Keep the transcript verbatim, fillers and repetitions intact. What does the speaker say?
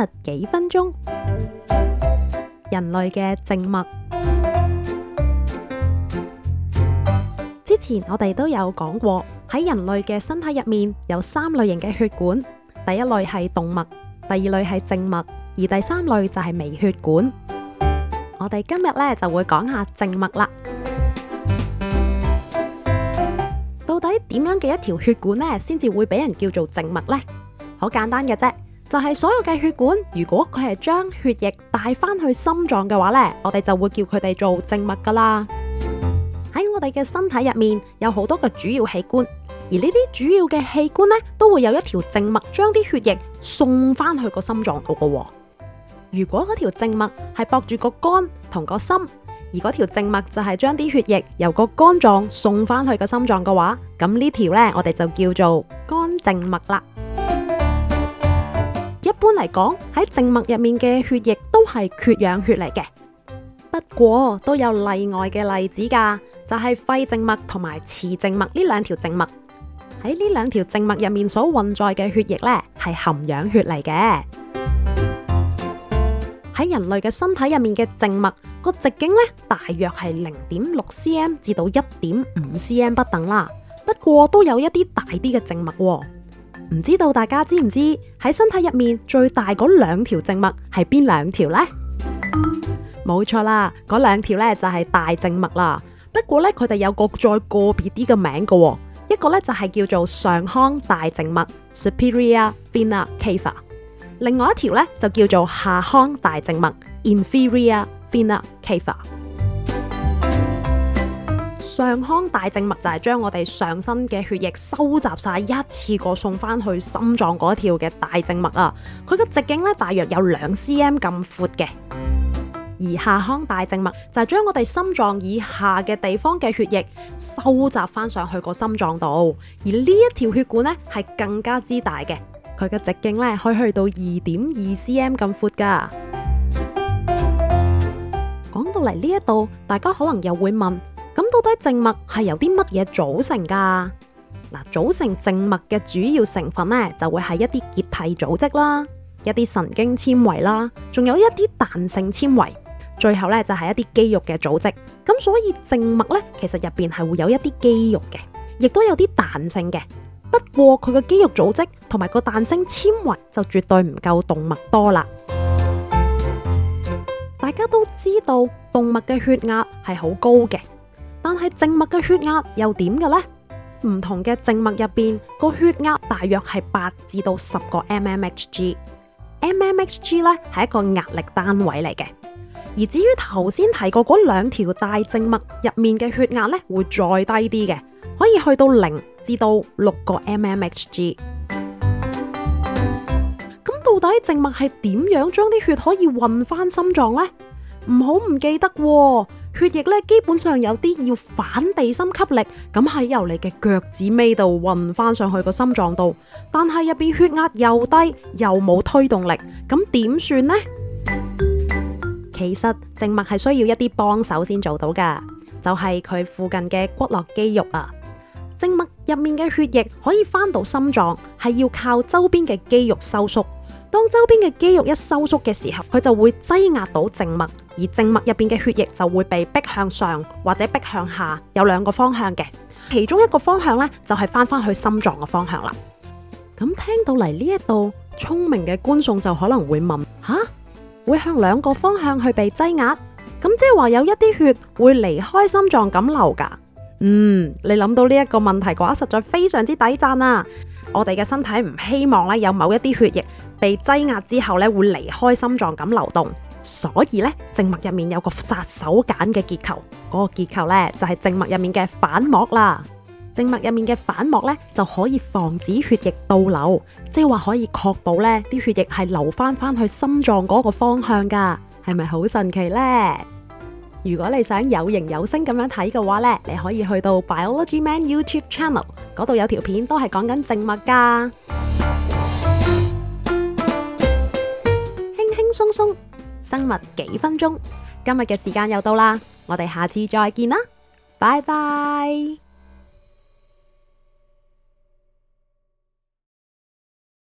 物幾分鐘，人類嘅靜脈。之前我哋都有講過，喺人類嘅身體入面有三類型嘅血管，第一類係動脈，第二類係靜脈，而第三類就係微血管。我哋今日咧就會講下靜脈啦。到底點樣嘅一條血管呢先至會俾人叫做靜脈呢？好簡單嘅啫，就係所有嘅血管，如果佢係將血液帶翻去心臟嘅話呢，我哋就會叫佢哋做靜脈噶啦。喺我哋嘅身體入面有好多個主要器官，而呢啲主要嘅器官呢，都會有一條靜脈將啲血液送翻去個心臟度噶。如果嗰條靜脈係駁住個肝同個心，而嗰條靜脈就係將啲血液由個肝臟送翻去個心臟嘅話，咁呢條呢，我哋就叫做肝靜脈啦。一般嚟講，喺靜脈入面嘅血液都係缺氧血嚟嘅，不過都有例外嘅例子噶，就係肺靜脈同埋磁靜脈呢兩條靜脈。喺呢兩條靜脈入面所運載嘅血液呢，係含氧血嚟嘅。喺人類嘅身體入面嘅靜脈個直徑呢，大約係零點六 cm 至到一點五 cm 不等啦。不過都有一啲大啲嘅靜脈喎。唔知道大家知唔知喺身體入面最大嗰兩條靜脈係邊兩條呢？冇錯啦，嗰兩條呢就係大靜脈啦。不過呢，佢哋有個再個別啲嘅名嘅喎，一個呢就係叫做上腔大靜脈 （Superior Vena Cava），另外一條呢就叫做下腔大靜脈 （Inferior Vena Cava）。上腔大靜脈就係將我哋上身嘅血液收集晒一次過送翻去心臟嗰條嘅大靜脈啊，佢嘅直徑咧大約有兩 cm 咁闊嘅。而下腔大靜脈就係將我哋心臟以下嘅地方嘅血液收集翻上去個心臟度，而呢一條血管咧係更加之大嘅，佢嘅直徑咧可以去到二點二 cm 咁闊噶。講到嚟呢一度，大家可能又會問，咁到底靜脈係由啲乜嘢組成噶？嗱，組成靜脈嘅主要成分呢，就會係一啲結締組織啦，一啲神經纖維啦，仲有一啲彈性纖維，最後呢，就係一啲肌肉嘅組織。咁所以靜脈呢，其實入邊係會有一啲肌肉嘅，亦都有啲彈性嘅。不過佢嘅肌肉組織同埋個彈性纖維就絕對唔夠動脈多啦。大家都知道動脈嘅血壓係好高嘅。但係靜脈嘅血壓又點嘅呢？唔同嘅靜脈入邊個血壓大約係八至到十個 mmHg，mmHg 咧係一個壓力單位嚟嘅。而至於頭先提過嗰兩條大靜脈入面嘅血壓咧，會再低啲嘅，可以去到零至到六個 mmHg。咁到底靜脈係點樣將啲血可以運翻心臟呢？唔好唔記得喎。血液咧基本上有啲要反地心吸力，咁喺由你嘅腳趾尾度運翻上去個心臟度，但係入邊血壓又低又冇推動力，咁點算呢？其實靜脈係需要一啲幫手先做到噶，就係佢附近嘅骨骼肌肉啊。靜脈入面嘅血液可以翻到心臟，係要靠周邊嘅肌肉收縮。當周邊嘅肌肉一收縮嘅時候，佢就會擠壓到靜脈，而靜脈入邊嘅血液就會被逼向上或者逼向下，有兩個方向嘅。其中一個方向呢，就係翻翻去心臟嘅方向啦。咁聽到嚟呢一度，聰明嘅觀眾就可能會問：吓，會向兩個方向去被擠壓？咁即係話有一啲血會離開心臟咁流噶？嗯，你諗到呢一個問題嘅話，實在非常之抵讚啊！我哋嘅身體唔希望咧有某一啲血液被擠壓之後咧會離開心臟咁流動，所以咧靜脈入面有個殺手鐧嘅結構，嗰個結構咧就係靜脈入面嘅反膜啦。靜脈入面嘅反膜咧就可以防止血液倒流，即係話可以確保咧啲血液係流翻翻去心臟嗰個方向噶，係咪好神奇呢？如果你想有形有聲咁樣睇嘅話呢，你可以去到 Biology Man YouTube Channel 嗰度有條片都係講緊靜脈噶，輕輕鬆鬆生物幾分鐘。今日嘅時間又到啦，我哋下次再見啦，拜拜。